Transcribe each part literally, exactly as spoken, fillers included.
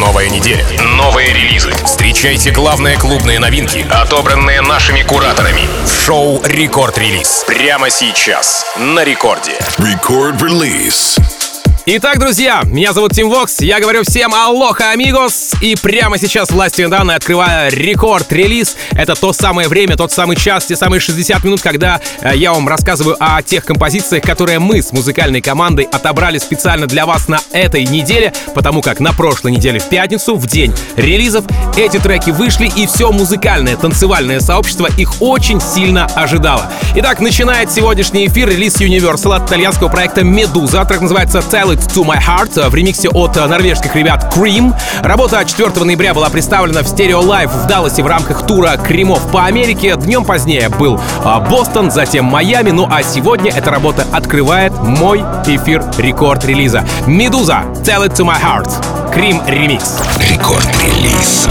Новая неделя, новые релизы. Встречайте главные клубные новинки, отобранные нашими кураторами. В шоу «Рекорд-релиз». Прямо сейчас на Рекорде. Рекорд-релиз. Итак, друзья, меня зовут Тим Вокс, я говорю всем алоха, амигос, и прямо сейчас властью данной открываю рекорд-релиз. Это то самое время, тот самый час, те самые шестьдесят минут, когда э, я вам рассказываю о тех композициях, которые мы с музыкальной командой отобрали специально для вас на этой неделе, потому как на прошлой неделе в пятницу, в день релизов, эти треки вышли, и все музыкальное, танцевальное сообщество их очень сильно ожидало. Итак, начинает сегодняшний эфир релиз Universal от итальянского проекта Medusa. Трек называется «Tell It To My Heart» в ремиксе от норвежских ребят Cream. Работа четвёртого ноября была представлена в Stereo Live в Далласе в рамках тура Кремов по Америке. Днем позднее был Бостон, затем Майами. Ну а сегодня эта работа открывает мой эфир рекорд-релиза. Medusa, «Tell It To My Heart», Cream ремикс. Рекорд-релиз.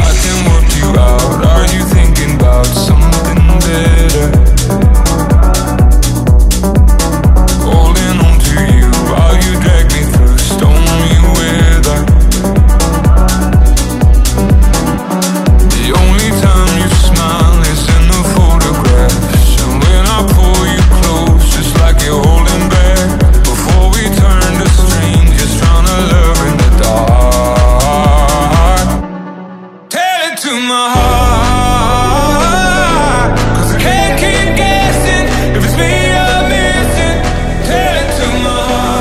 If it's me you're missing, tell it to my heart.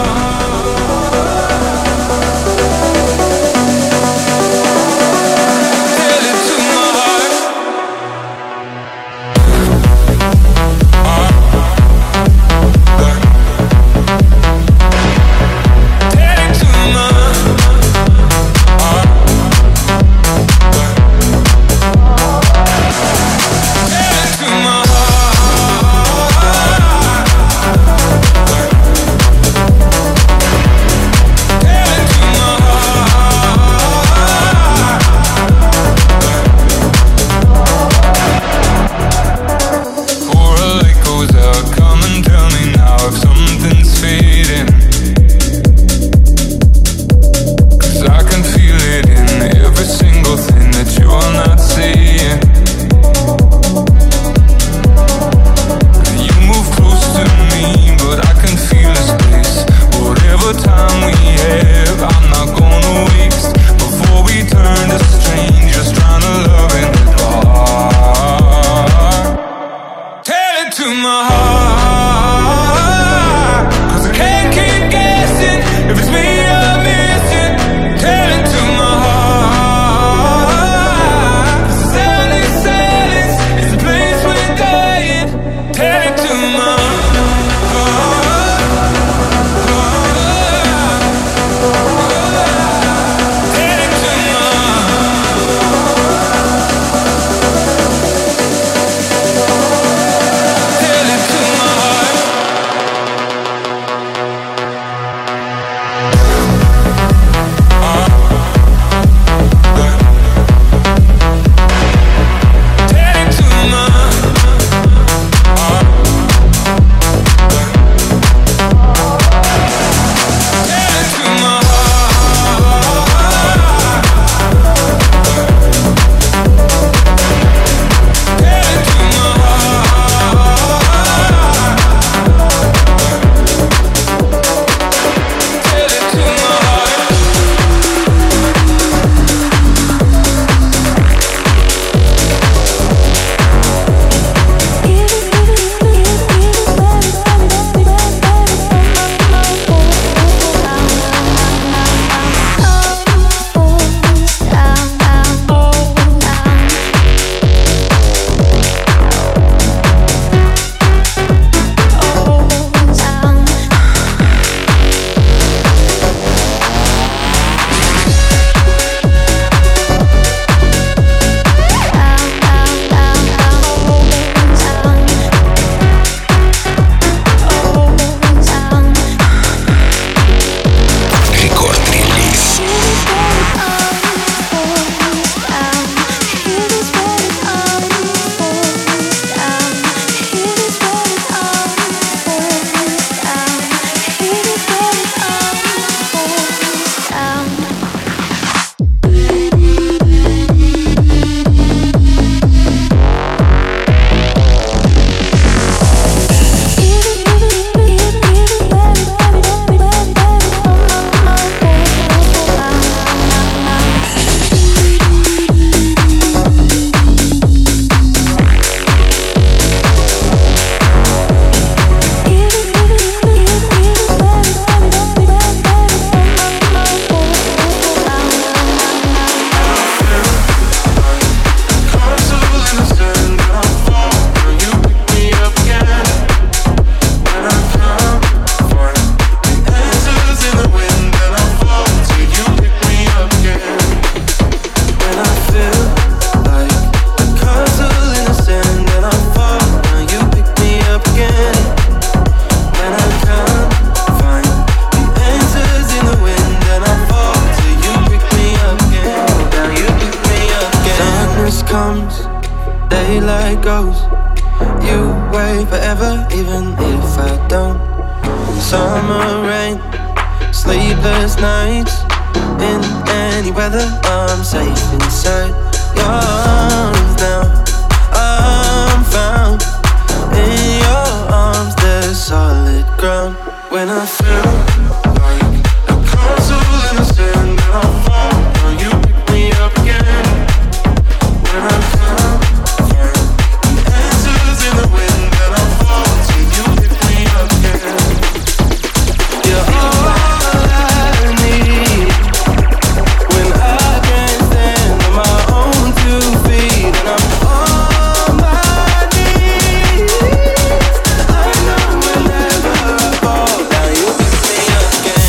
me like ghosts. You wait forever, even if I don't. Summer rain, sleepless nights. In any weather, I'm safe inside your arms now. I'm found in your arms, there's solid ground. When I feel like a castle in the sand, and I fall, now you pick me up again. When I feel the answers in the wind, and I fall till you pick me up again. You're all I need when I can't stand on my own two feet, and I'm on my knees. I know whenever I fall down, you pick me up again.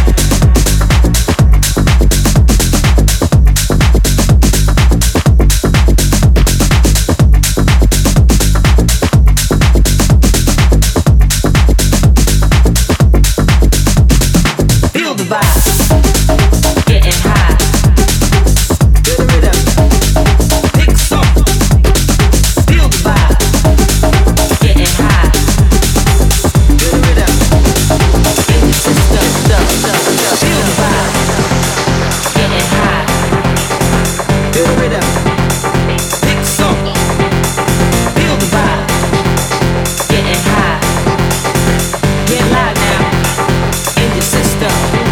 Feel the vibe, getting high. Feel the rhythm, pick some. Feel the vibe, getting high. Feel the rhythm, in your system. Feel the vibe, getting high. Feel the rhythm, pick some. Feel the vibe, getting high. Get live now, in your system.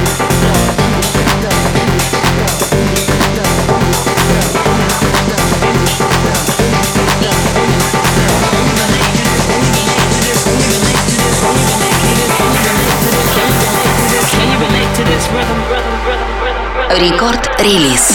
Рекорд-релиз.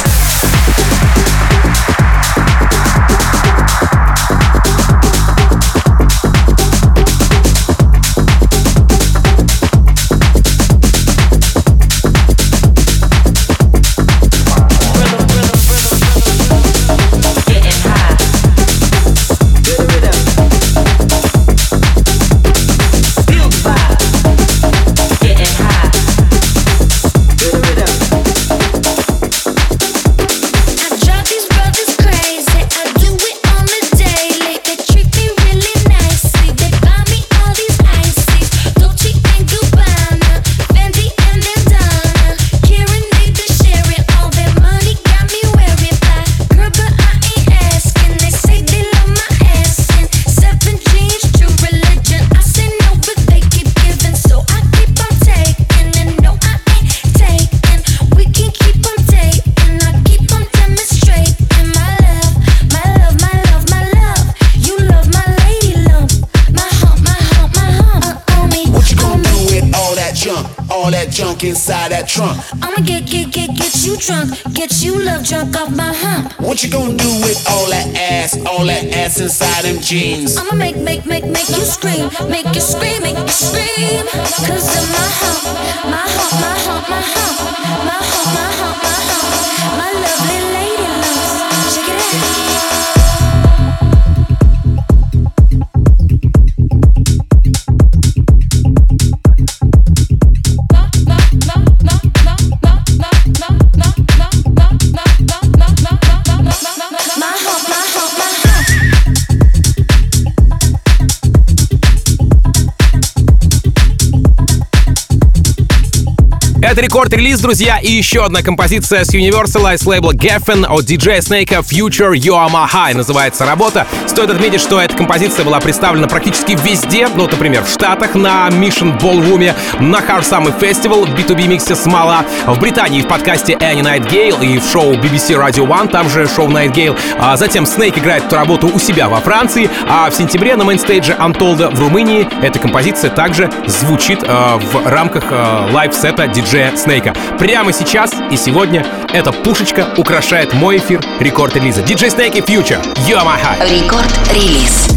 Inside that trunk, I'ma get, get, get, get you drunk, get you love drunk off my hump. what you gonna do with all that ass, all that ass inside them jeans? I'ma make, make, make, make you scream, make you scream, make you scream. Cause of my hump, my hump, my hump, my hump, my hump, my hump, my hump, my lovely lady loves. Check it out. Это рекорд-релиз, друзья, и еще одна композиция с Universal с лейбла Geffen от диджея Snake Future You Are My High называется работа. Стоит отметить, что эта композиция была представлена практически везде, ну, например, в Штатах на Mission Ballroom, на Hard Summer Festival, в би ту би миксе Смола, в Британии в подкасте Any Nightingale и в шоу би би си Radio One, там же шоу Nightingale. А затем Snake играет эту работу у себя во Франции, а в сентябре на мейнстейдже Untold в Румынии эта композиция также звучит э, в рамках э, лайв-сета диджея Снейка. Прямо сейчас и сегодня эта пушечка украшает мой эфир рекорд-релиза. диджей Snake и Future, You Are My High. Рекорд-релиз.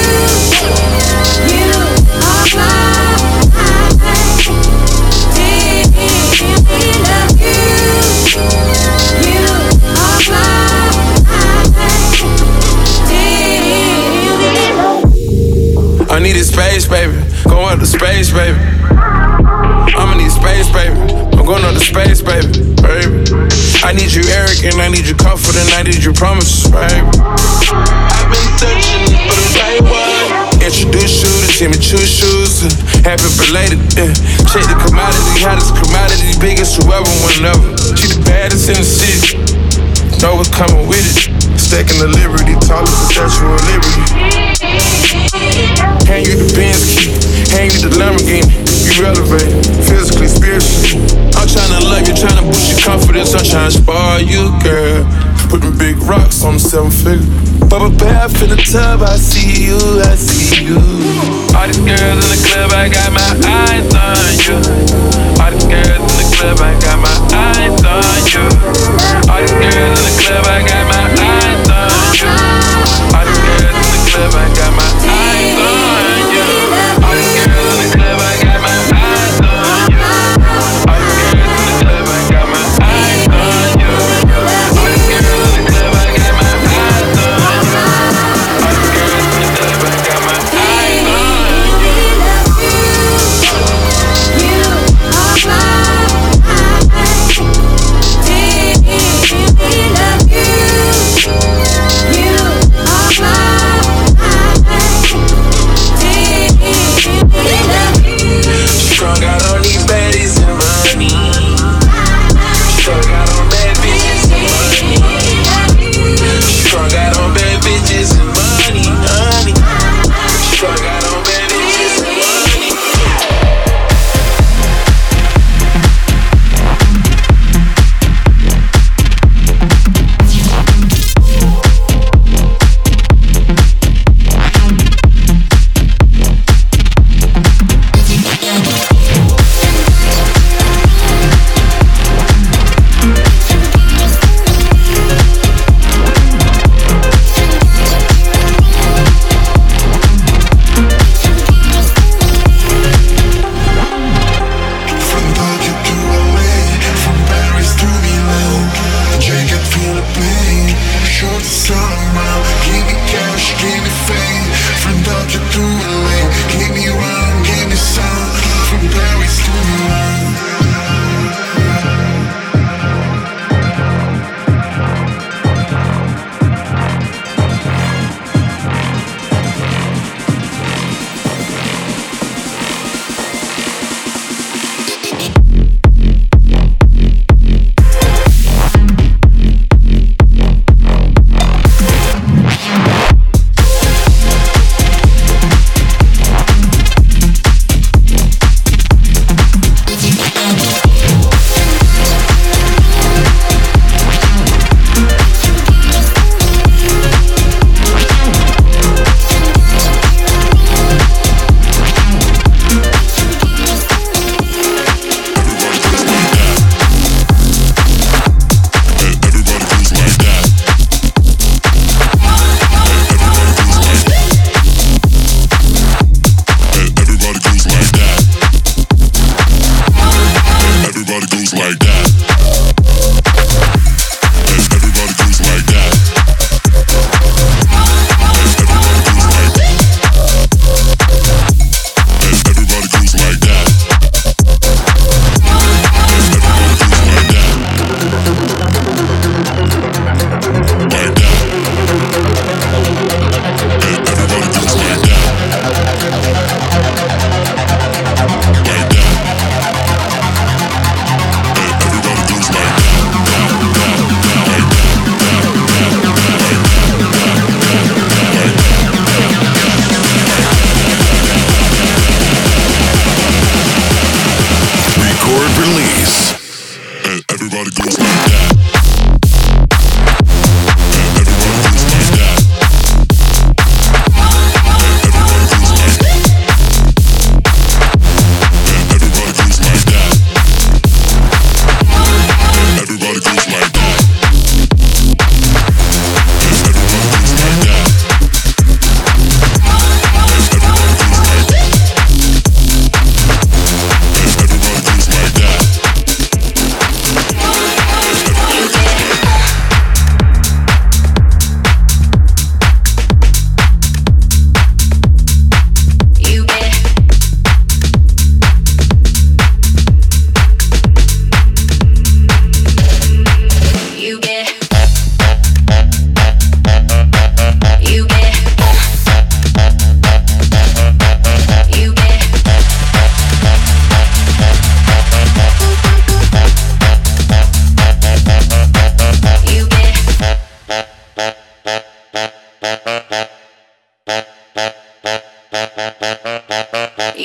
I needed space, baby. Go up to space, baby. I'ma need space, baby. I'm going up to space, baby. Baby. I need you arrogant, I need you confident, I need you promises, baby. I've been searching see me choose shoes. Uh, happy belated, yeah. Check the commodity, hottest commodity, biggest whoever, whenever. She the baddest in the city. Know what's coming with it. Stacking the liberty, tallest the Statue of Liberty. Hand you the Benz key, hand you the Lamborghini. You elevate, physically, spiritually. I'm tryna love you, tryna boost your confidence. I'm tryna spoil you, girl. Putting big rocks on the seven figure. Bubba bath in the tub, I see you, I see you. All these girls in the club, I got my eyes on you. All these girls in the club, I got my eyes on you. All these girls in the club, I got my eyes on you. All these girls in the club, I got my eyes on you. All these girls in the club, I got my eyes on you. All these girls in the club, I got my eyes on you. All these girls in the club, I got my eyes on you. All these girls in the club, I got my eyes on you. You are Strung out on these baddies and money. Strung out on bad bitches and money. Strung out on bad bitches and money, honey. Strung out on bad bitches and money.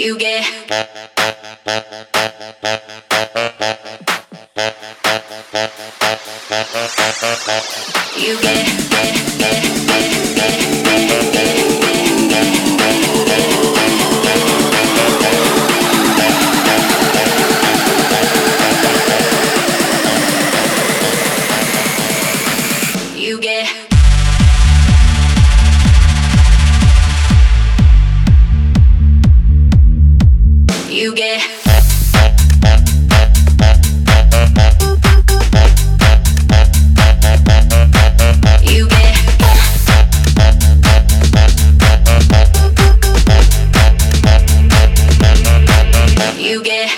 You get You get, get, get, get, get, You get You get You get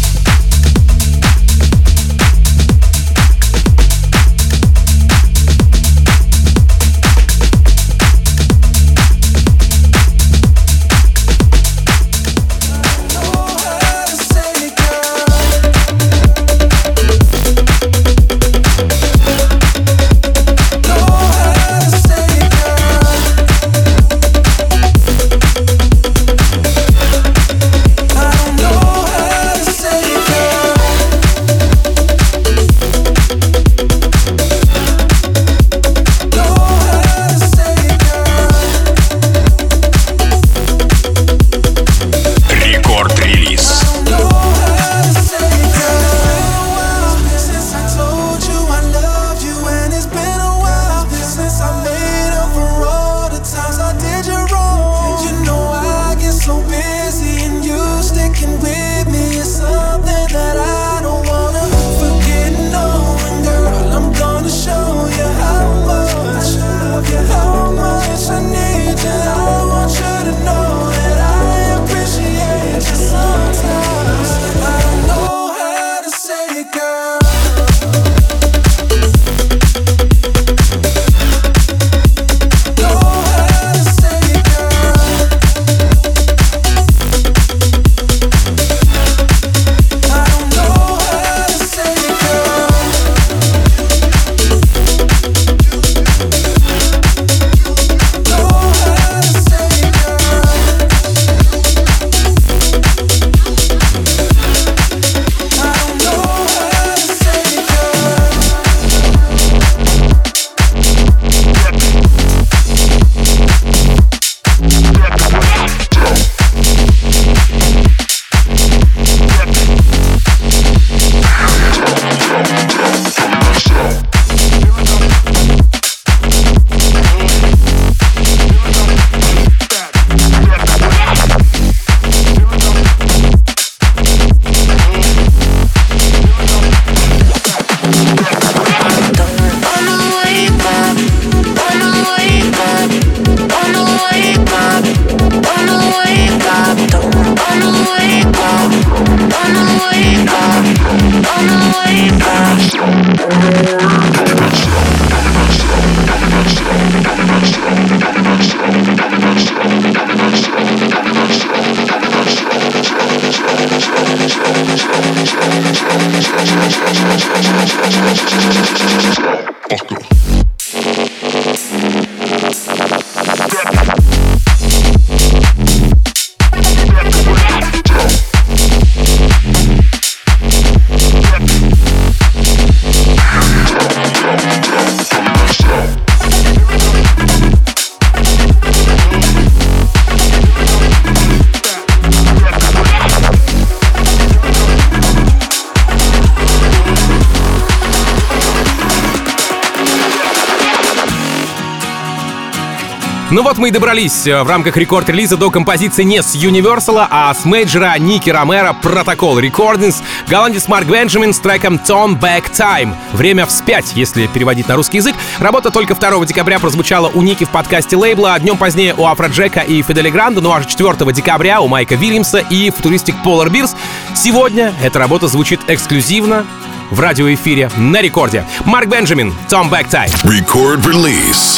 Ну вот мы и добрались в рамках рекорд-релиза до композиции не с Universal, а с мейджора Ники Ромеро Protocol Recordings, голландец Марк Бенджамин с треком Turn Back Time. Время вспять, если переводить на русский язык. Работа только второго декабря прозвучала у Ники в подкасте лейбла, а днем позднее у Афроджека и Фиделя Гранда, ну а же четвёртого декабря у Майка Вильямса и футуристик Polar Bears. Сегодня эта работа звучит эксклюзивно в радиоэфире на рекорде. Марк Бенджамин, Turn Back Time. Record release.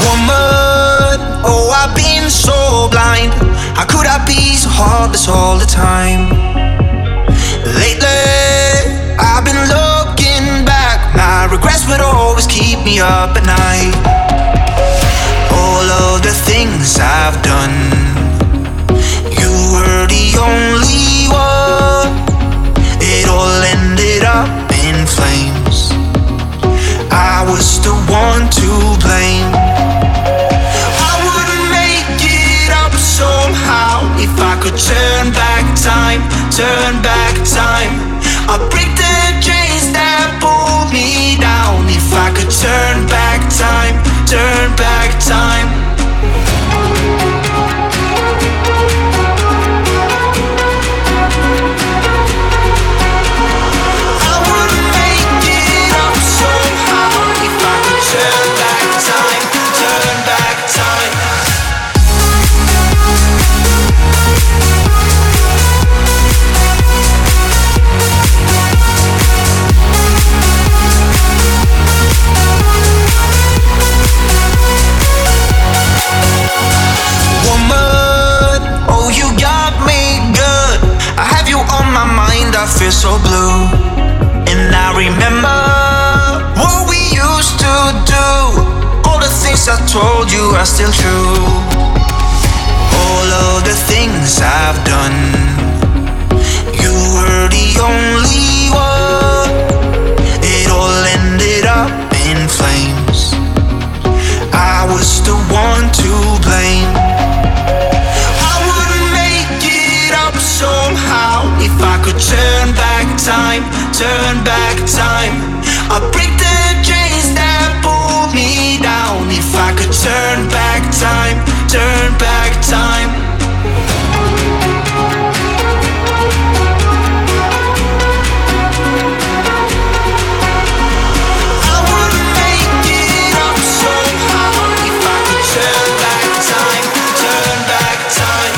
Woman, oh, I've been so blind. How could I be so heartless all the time? Lately, I've been looking back. My regrets would always keep me up at night. All of the things I've done, you were the only one. It all ended up in flames. I was the one to blame. I wouldn't make it up somehow if I could turn back time, turn back time. I'd break the chains that pull me down if I could turn back time, turn back time. I feel so blue, and I remember what we used to do. All the things I told you are still true. All of the things I've done, you were the only one. It all ended up in flames. I was the one to blame. I wouldn't make it up somehow if I could turn back time, turn back time. I'd break the chains that pull me down if I could turn back time, turn back time. I wouldn't make it up somehow if I could turn back time, turn back time.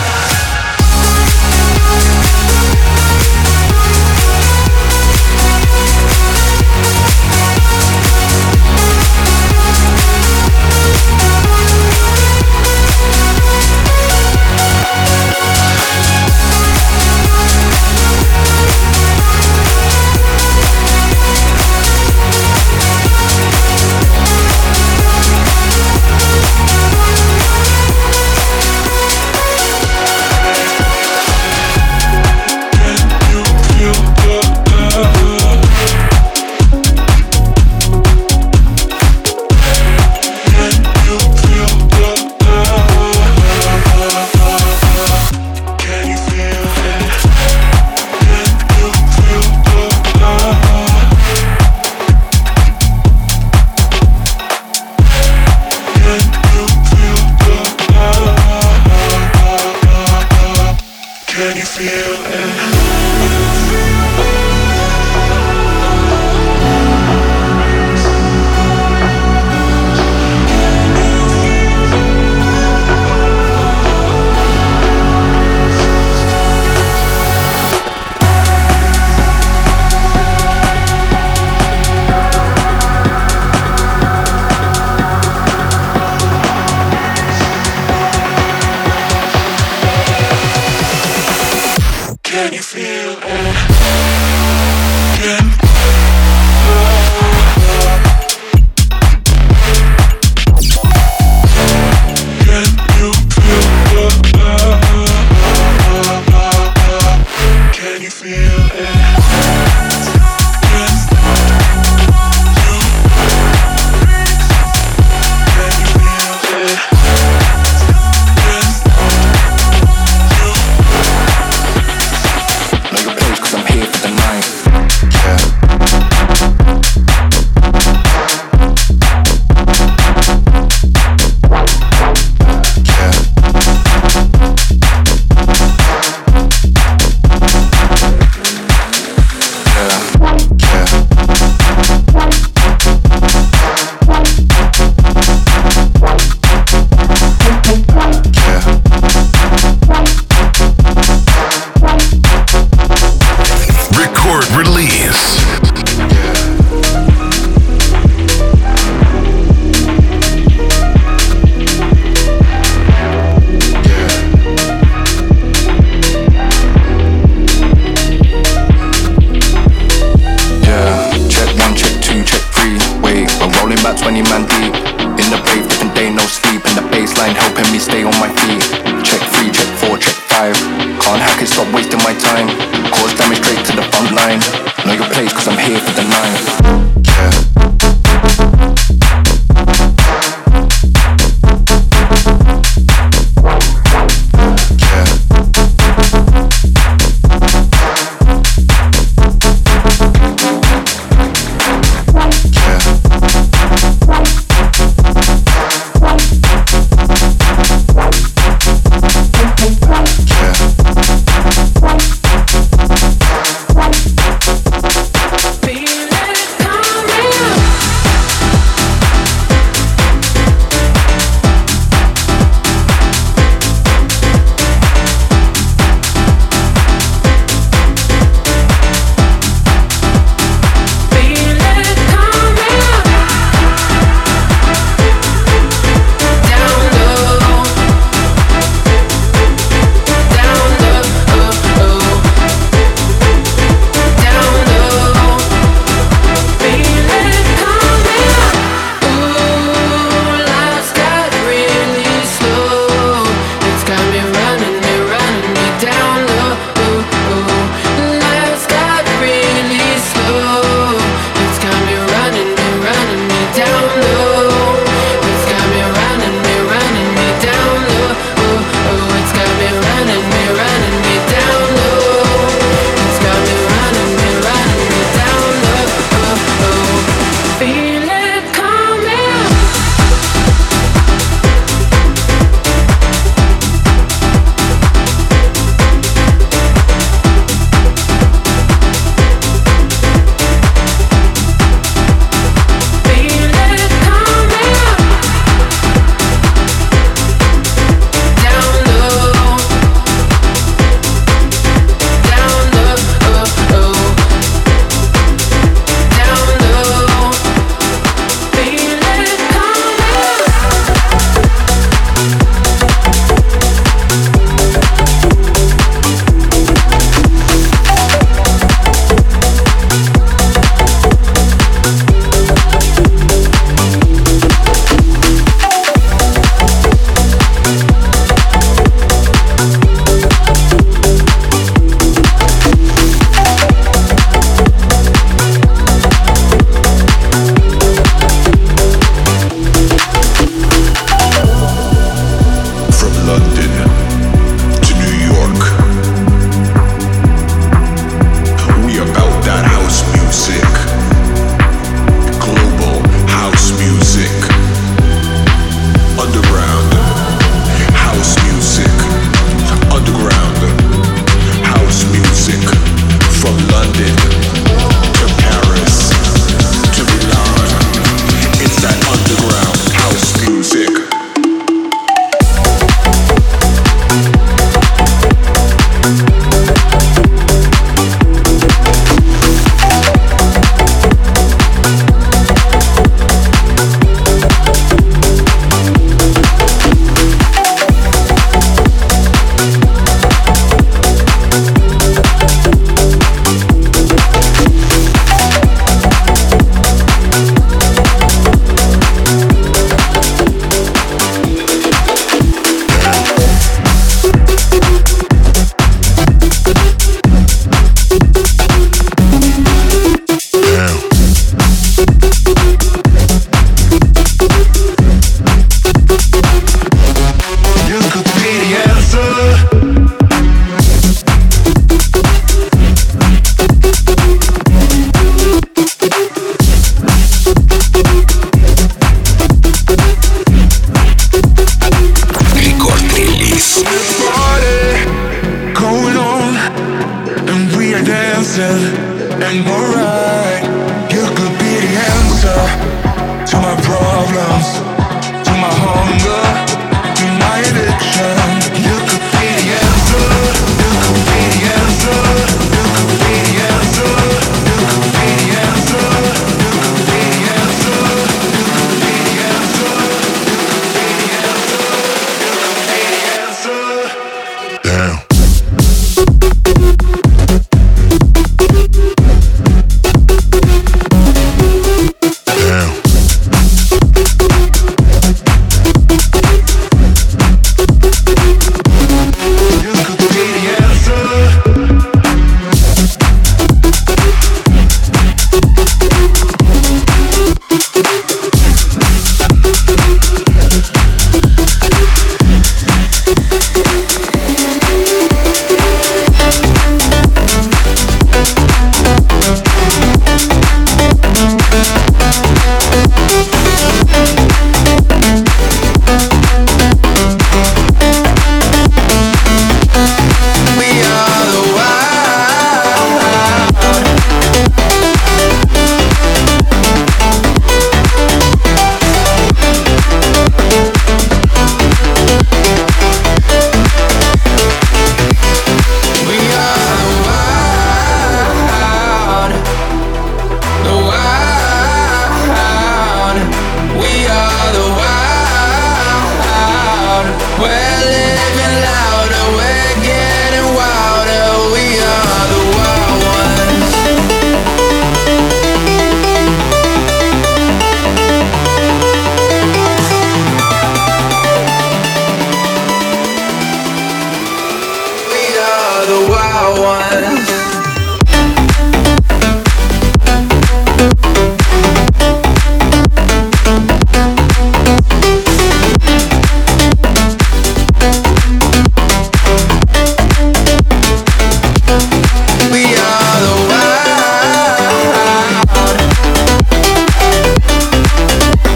my time. Cause damage straight to the front line. Know your place cause I'm here for the night. Yeah. Feel it come.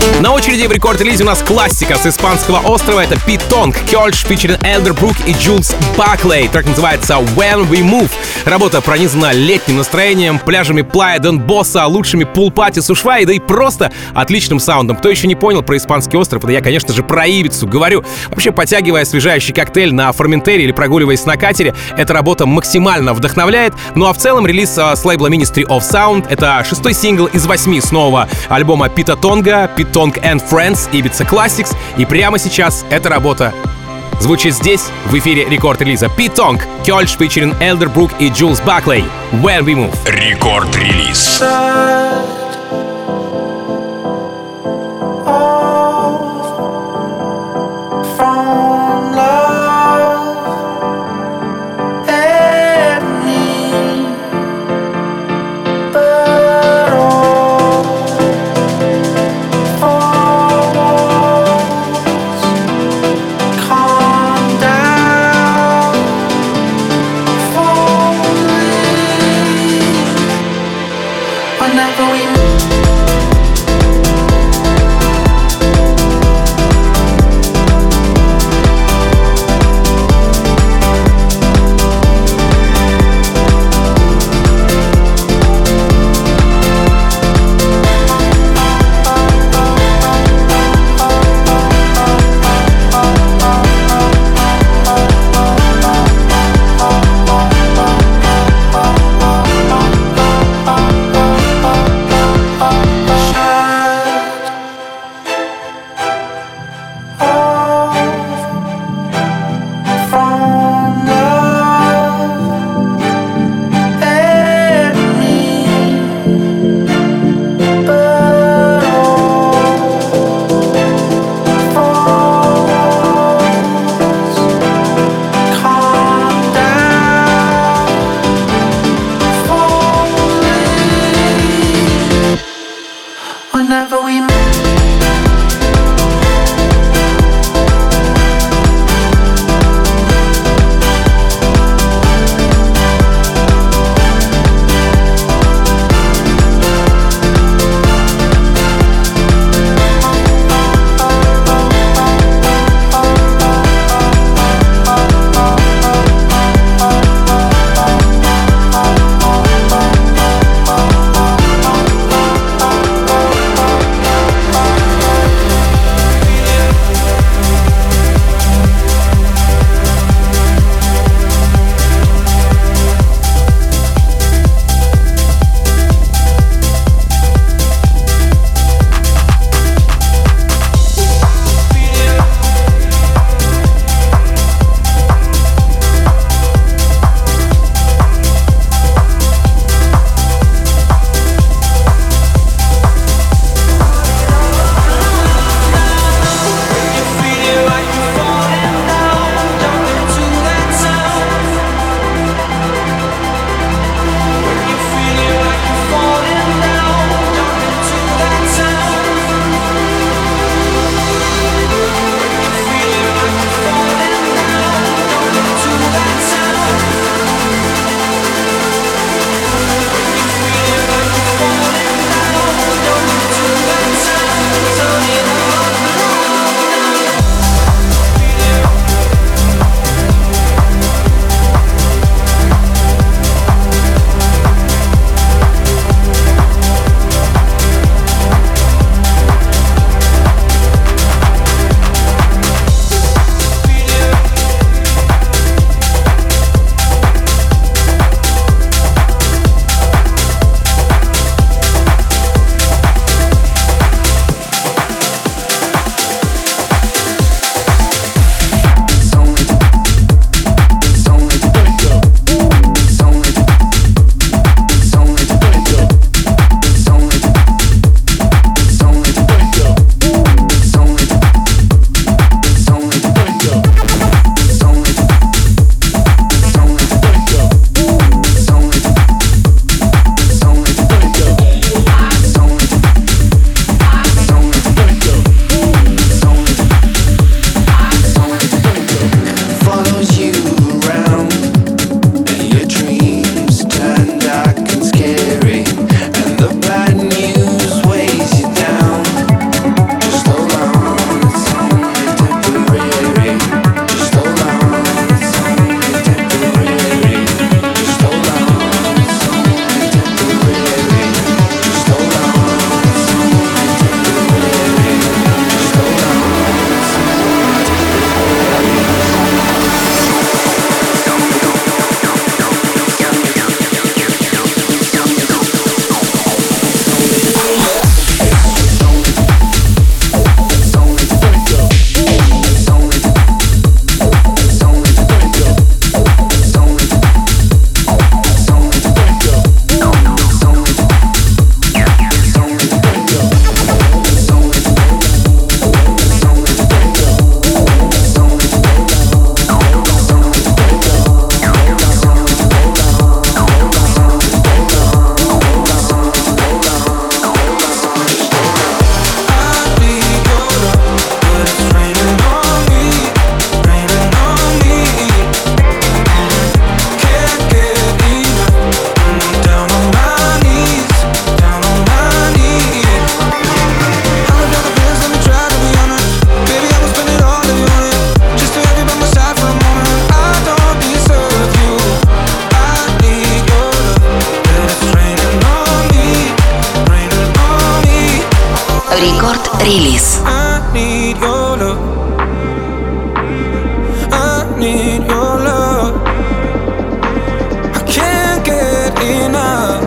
На очереди в рекорд-релизе у нас классика с испанского острова. Это Pete Tong, Kölsch, featuring Elderbrook и Jules Buckley. Трек называется When We Move. Работа пронизана летним настроением, пляжами Плая Дон Босса, лучшими пул-пати с Ушвай, да и просто отличным саундом. Кто еще не понял про испанский остров, это я, конечно же, про Ибицу говорю. Вообще, потягивая освежающий коктейль на Форментере или прогуливаясь на катере, эта работа максимально вдохновляет. Ну а в целом релиз с лейбла Ministry of Sound — это шестой сингл из восьми с нового альбома Пита Тонга, Pete Tong and Friends, Ibiza Classics. И прямо сейчас эта работа звучит здесь, в эфире рекорд-релиза. Pete Tong, Kölsch, featuring Elderbrook и Jules Buckley. When We Move. Рекорд-релиз. Рекорд-релиз. I need your love. I need your love. I can't get enough.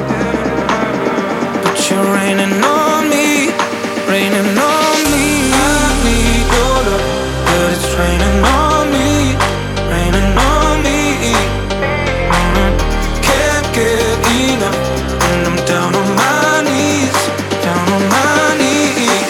But you're raining on me, raining on me. I need your love, but it's raining on me, raining on me. Mm-hmm. Can't get enough, and I'm down on my knees, down on my knees.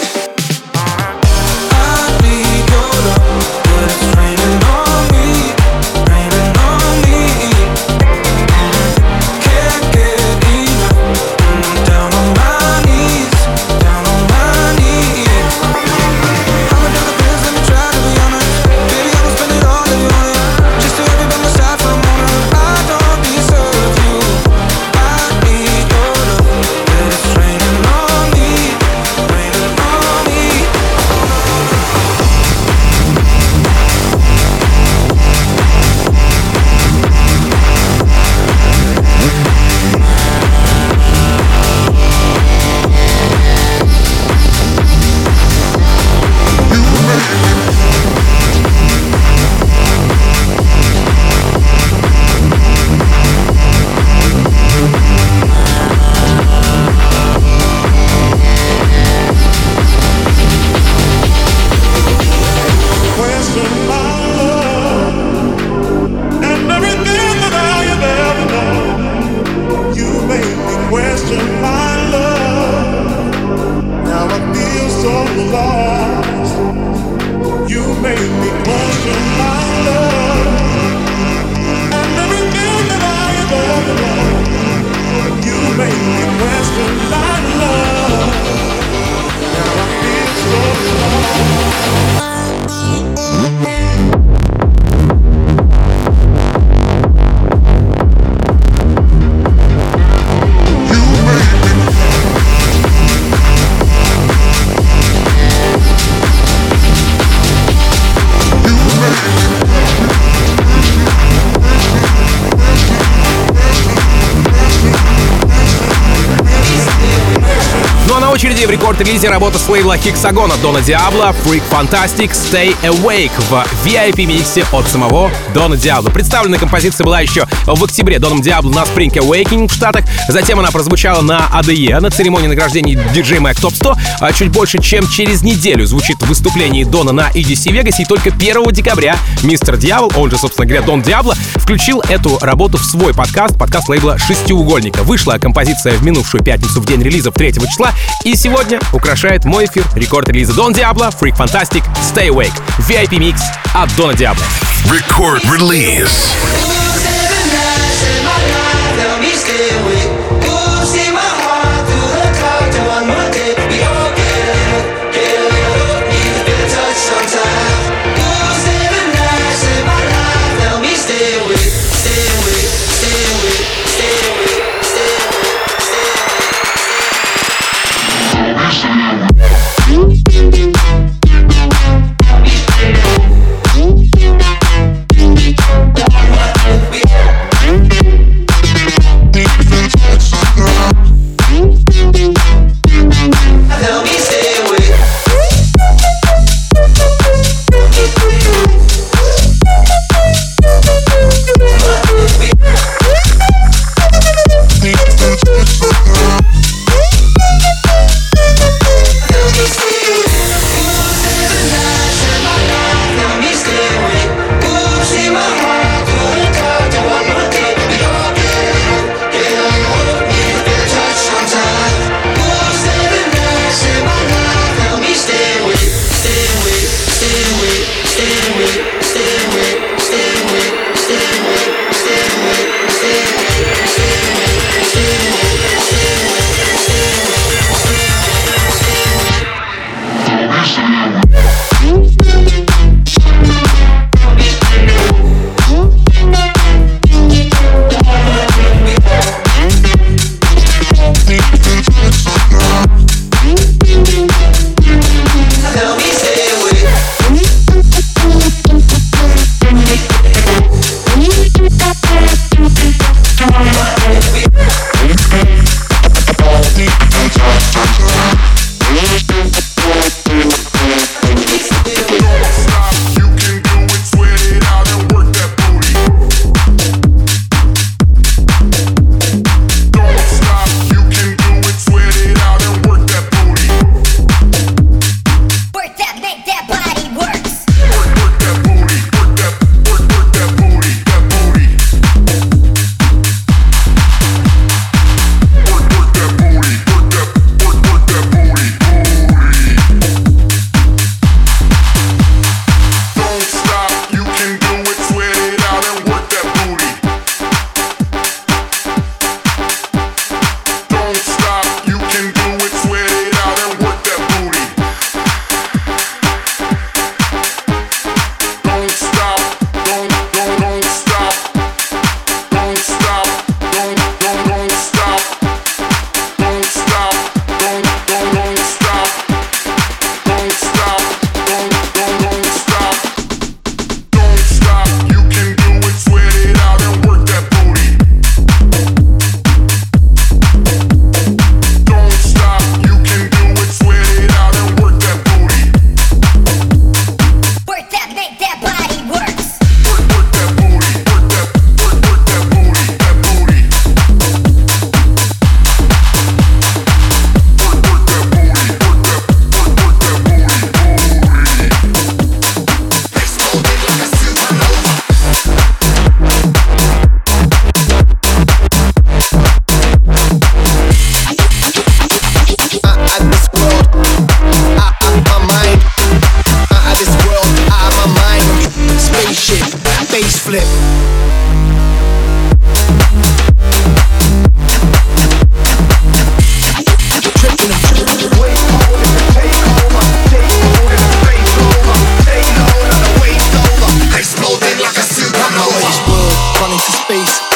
I need your love, but it's raining on me, raining on me. Mm-hmm. Can't get enough, and I'm down on my knees, down on my knees. I'ma do the best, let me try to be honest. Baby, I'ma spend it all that you want it, just to have you by my side for a moment. I don't deserve you. I need your love, but it's raining on me, raining on me. Question my love and everything that I have ever known. You made me question my love. Now I feel so lost. You made me question my love and everything that I have ever known. You made me question my love. Now I feel so lost. Ну а на очереди в рекорд-релизе работа с лейбла Hexagon Дона Диабло Freak Fantastic Stay Awake в ви ай пи-миксе от самого Дона Диабло. Представленная композиция была еще в октябре Доном Диабло на Spring Awakening в Штатах. Затем она прозвучала на эй ди и, на церемонии награждения ди джей Mag Top сто. А чуть больше, чем через неделю звучит в выступлении Дона на и ди си Vegas. И только первого декабря мистер Дьявол, он же, собственно говоря, Дон Диабло, включил эту работу в свой подкаст, подкаст лейбла «Шестиугольника». Вышла композиция в минувшую пятницу в день релиза третьего числа. И сегодня украшает мой эфир рекорд-релиза Дон Диабло Freak Fantastic Stay Awake. ви ай пи-микс от Дона Диабло. Record release.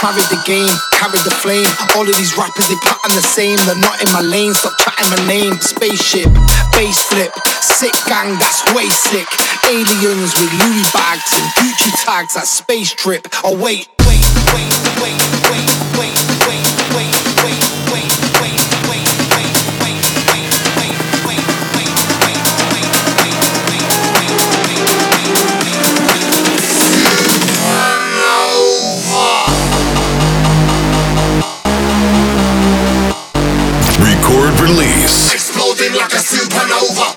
Carried the game, carried the flame. All of these rappers, they pattern the same. They're not in my lane, stop chatting my name. Spaceship, bass flip, sick gang, that's way sick. Aliens with Louis bags and Gucci tags, that's space trip. Oh wait, wait, wait, wait, wait, wait, wait, wait, wait, wait, wait, wait, wait, wait, wait, wait, wait, wait, Record release. Exploding like a supernova.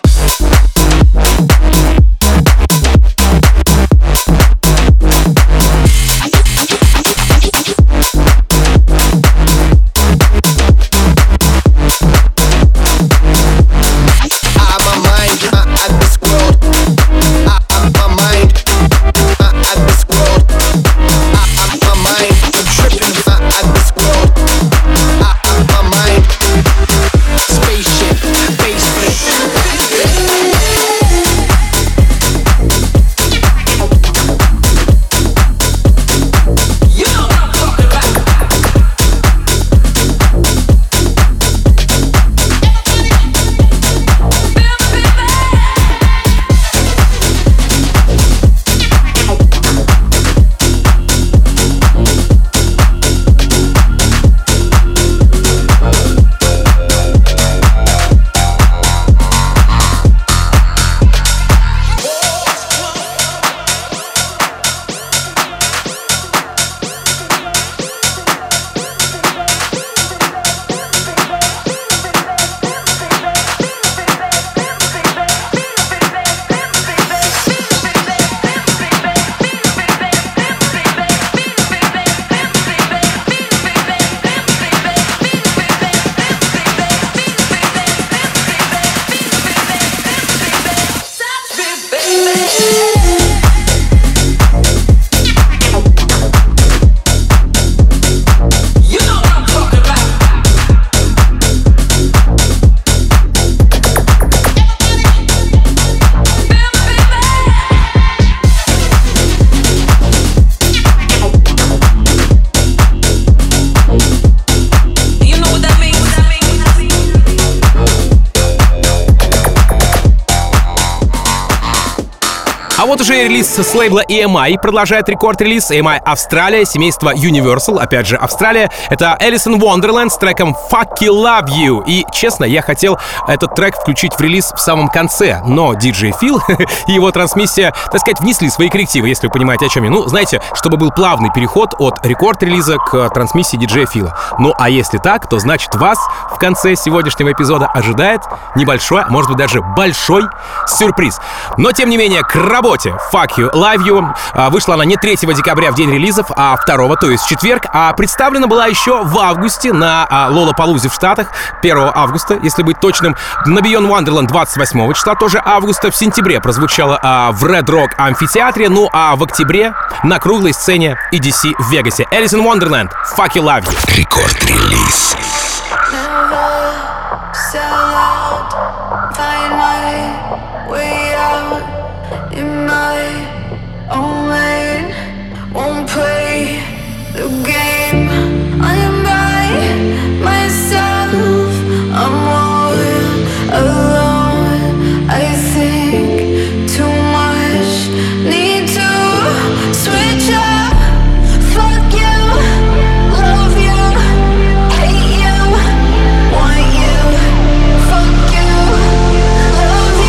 А вот уже релиз с лейбла и эм ай продолжает рекорд-релиз. и эм ай Австралия, семейство Universal, опять же Австралия. Это Alice in Wonderland с треком Fuck You Love You. И, честно, я хотел этот трек включить в релиз в самом конце, но диджей Фил и его трансмиссия, так сказать, внесли свои коррективы, если вы понимаете, о чем я. Ну, знаете, чтобы был плавный переход от рекорд-релиза к трансмиссии диджея Фила. Ну, а если так, то значит вас в конце сегодняшнего эпизода ожидает небольшой, а может быть даже большой сюрприз. Но, тем не менее, к работе. Fuck You, Love You. Вышла она не третьего декабря в день релизов, а второго, то есть в четверг. А представлена была еще в августе на Лолапалузе в Штатах, первого августа, если быть точным. На Beyond Wonderland двадцать восьмого числа, тоже августа. В сентябре прозвучала в Red Rock амфитеатре. Ну а в октябре на круглой сцене и ди си в Вегасе. Alice in Wonderland, Fuck You, Love You. Рекорд-релиз. In my own lane, won't play the game. I am by myself, I'm all alone. I think too much, need to switch up. Fuck you, love you, hate you, want you. Fuck you, love you.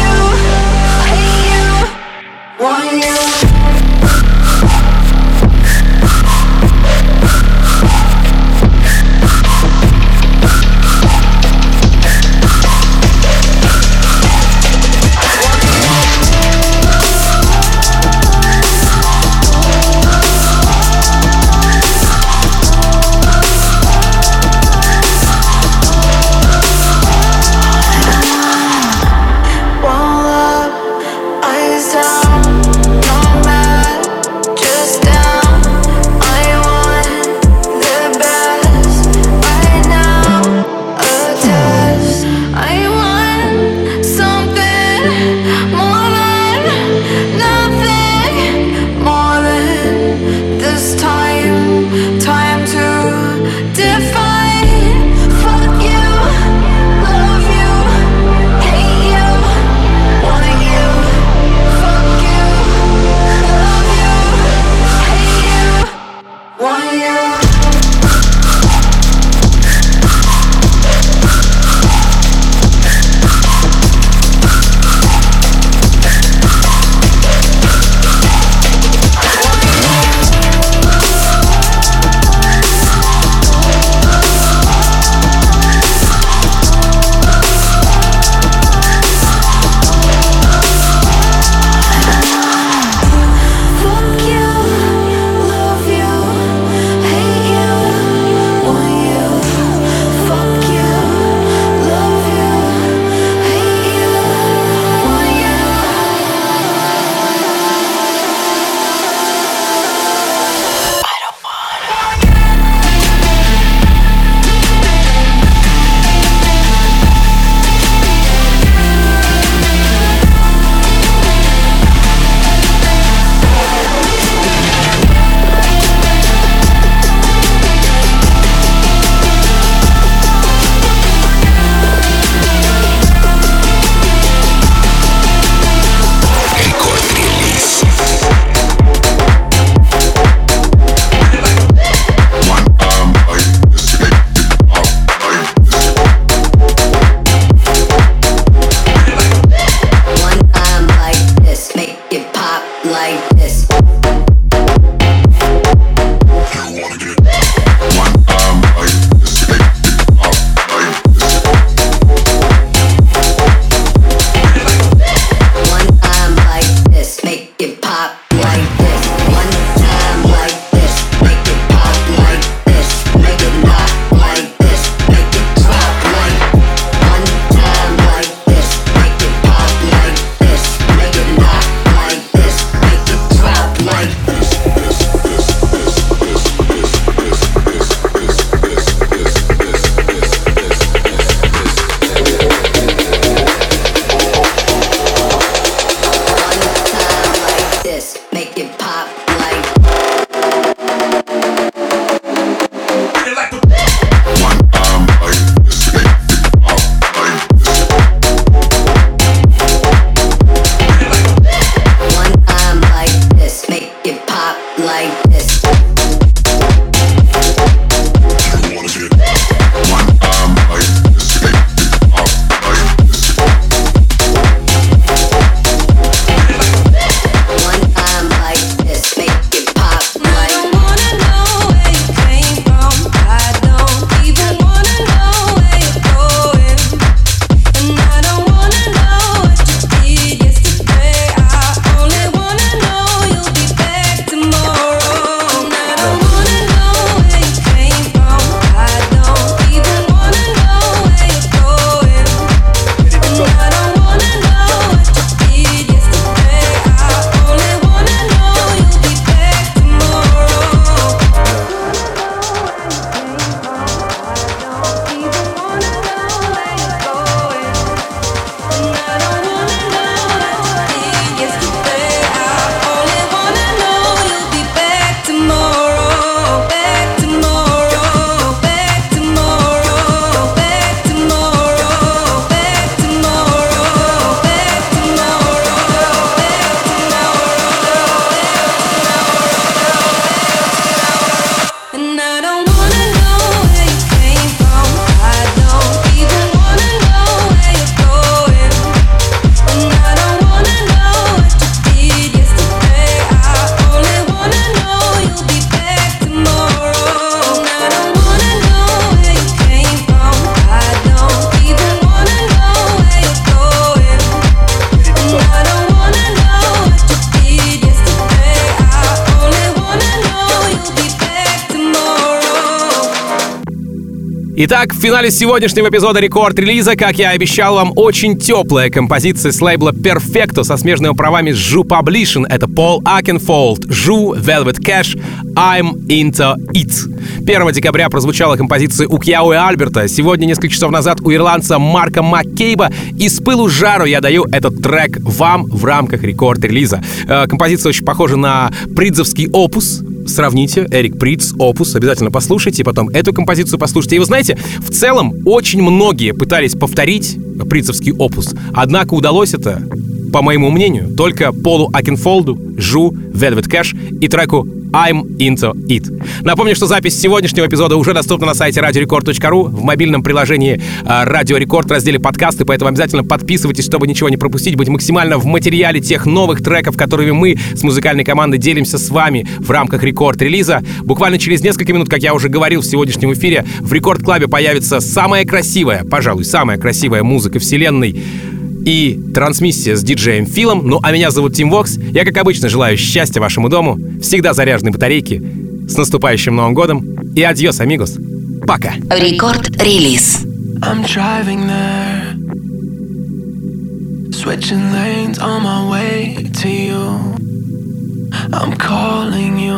Итак, в финале сегодняшнего эпизода рекорд-релиза, как я и обещал вам, очень теплая композиция с лейбла Perfecto со смежными правами с Ju Publishing. Это Paul Oakenfold, Ju, Velvet Cash, I'm Into It. первого декабря прозвучала композиция у Кьяо и Альберта. Сегодня, несколько часов назад, у ирландца Марка Маккейба. И с пылу с жару я даю этот трек вам в рамках рекорд-релиза. Э, композиция очень похожа на придзовский опус. Сравните, Эрик Придз, опус, обязательно послушайте, потом эту композицию послушайте. И вы знаете, в целом очень многие пытались повторить придзовский опус, однако удалось это, по моему мнению, только Полу Окенфолду, Ju, Velvet Cash и треку I'm Into It. Напомню, что запись сегодняшнего эпизода уже доступна на сайте радио рекорд точка ру, в мобильном приложении Радио Рекорд, в разделе подкасты, поэтому обязательно подписывайтесь, чтобы ничего не пропустить, быть максимально в материале тех новых треков, которыми мы с музыкальной командой делимся с вами в рамках рекорд-релиза. Буквально через несколько минут, как я уже говорил в сегодняшнем эфире, в Рекорд-клабе появится самая красивая, пожалуй, самая красивая музыка вселенной и трансмиссия с диджеем Филом. Ну а меня зовут Тим Вокс. Я, как обычно, желаю счастья вашему дому, всегда заряженной батарейки. С наступающим Новым годом и адьос, амигос. Пока. Рекорд-релиз. I'm driving there, switching lanes on my way to you. I'm calling you.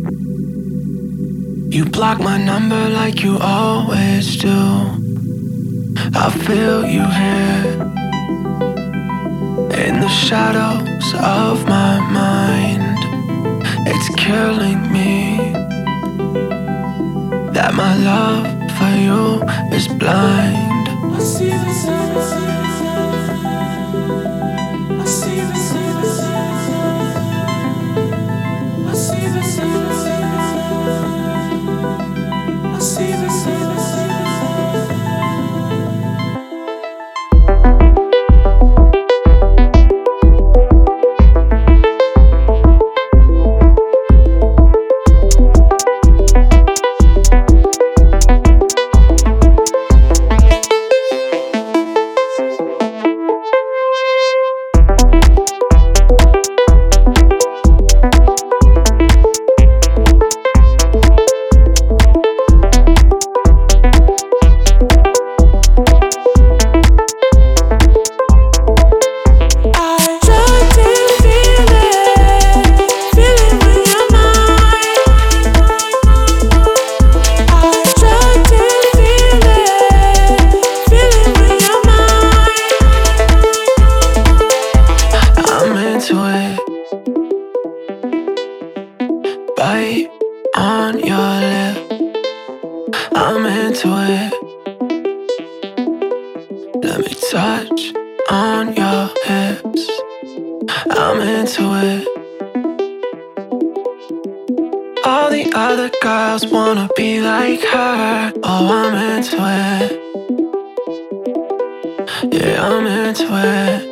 You block my number like you always do. I feel you here in the shadows of my mind. It's killing me that my love for you is blind. I see the sun, I see the sun, I see the sun, I see the sun. Wanna be like her. Oh, I'm into it. Yeah, I'm into it.